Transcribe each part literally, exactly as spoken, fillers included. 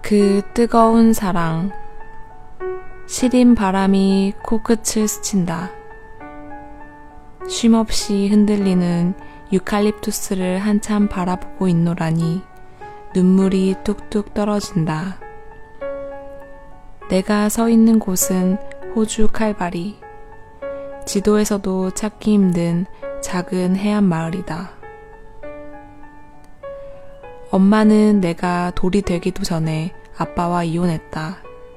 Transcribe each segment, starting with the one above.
그 뜨거운 사랑. 시린 바람이 코끝을 스친다. 쉼없이 흔들리는 유칼립투스를 한참 바라보고 있노라니 눈물이 뚝뚝 떨어진다. 내가 서 있는 곳은 호주 칼바리. 지도에서도 찾기 힘든 작은 해안 마을이다. 엄마는 내가 돌이 되기도 전에 아빠와 이혼했다.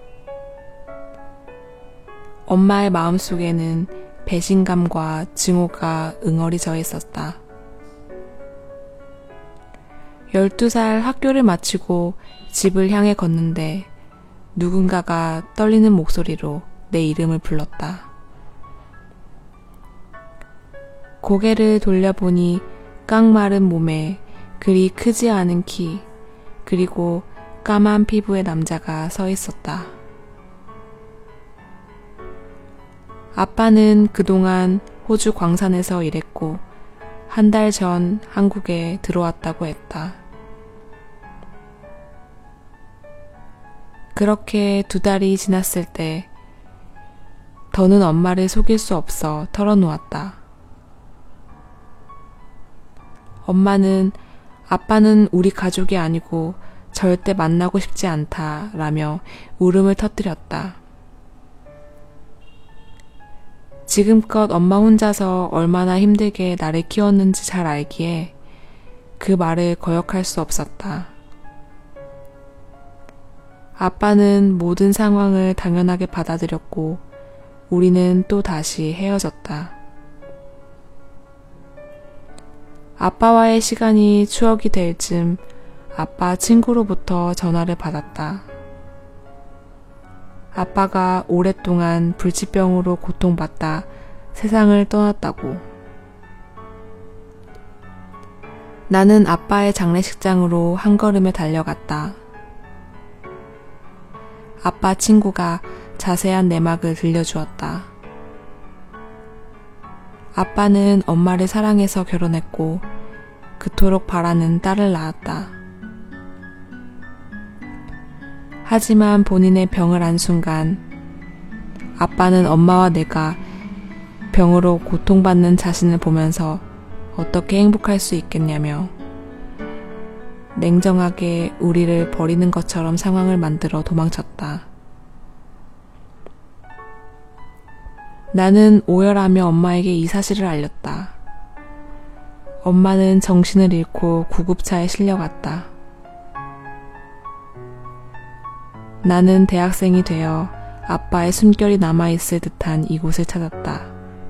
엄마의 마음속에는 배신감과 증오가 응어리져 있었다. 열두 살 학교를 마치고 집을 향해 걷는데 누군가가 떨리는 목소리로 내 이름을 불렀다. 고개를 돌려보니 깡마른 몸에 그리 크지 않은 키, 그리고 까만 피부의 남자가 서 있었다. 아빠는 그동안 호주 광산에서 일했고 한 달 전 한국에 들어왔다고 했다. 그렇게 두 달이 지났을 때 더는 엄마를 속일 수 없어 털어놓았다. 엄마는 아빠는 우리 가족이 아니고 절대 만나고 싶지 않다라며 울음을 터뜨렸다. 지금껏 엄마 혼자서 얼마나 힘들게 나를 키웠는지 잘 알기에 그 말을 거역할 수 없었다. 아빠는 모든 상황을 당연하게 받아들였고 우리는 또 다시 헤어졌다. 아빠와의 시간이 추억이 될 즈음 아빠 친구로부터 전화를 받았다. 아빠가 오랫동안 불치병으로 고통받다 세상을 떠났다고. 나는 아빠의 장례식장으로 한 걸음에 달려갔다. 아빠 친구가 자세한 내막을 들려주었다. 아빠는 엄마를 사랑해서 결혼했고 그토록 바라는 딸을 낳았다. 하지만 본인의 병을 안 순간 아빠는 엄마와 내가 병으로 고통받는 자신을 보면서 어떻게 행복할 수 있겠냐며 냉정하게 우리를 버리는 것처럼 상황을 만들어 도망쳤다. 나는 오열하며 엄마에게 이 사실을 알렸다. 엄마는 정신을 잃고 구급차에 실려갔다. 나는 대학생이 되어 아빠의 숨결이 남아있을 듯한 이곳을 찾았다.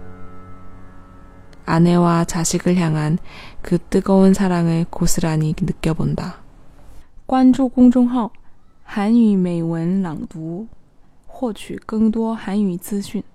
아내와 자식을 향한 그 뜨거운 사랑을 고스란히 느껴본다. 关注公众号韩语美文朗读，获取更多韩语资讯。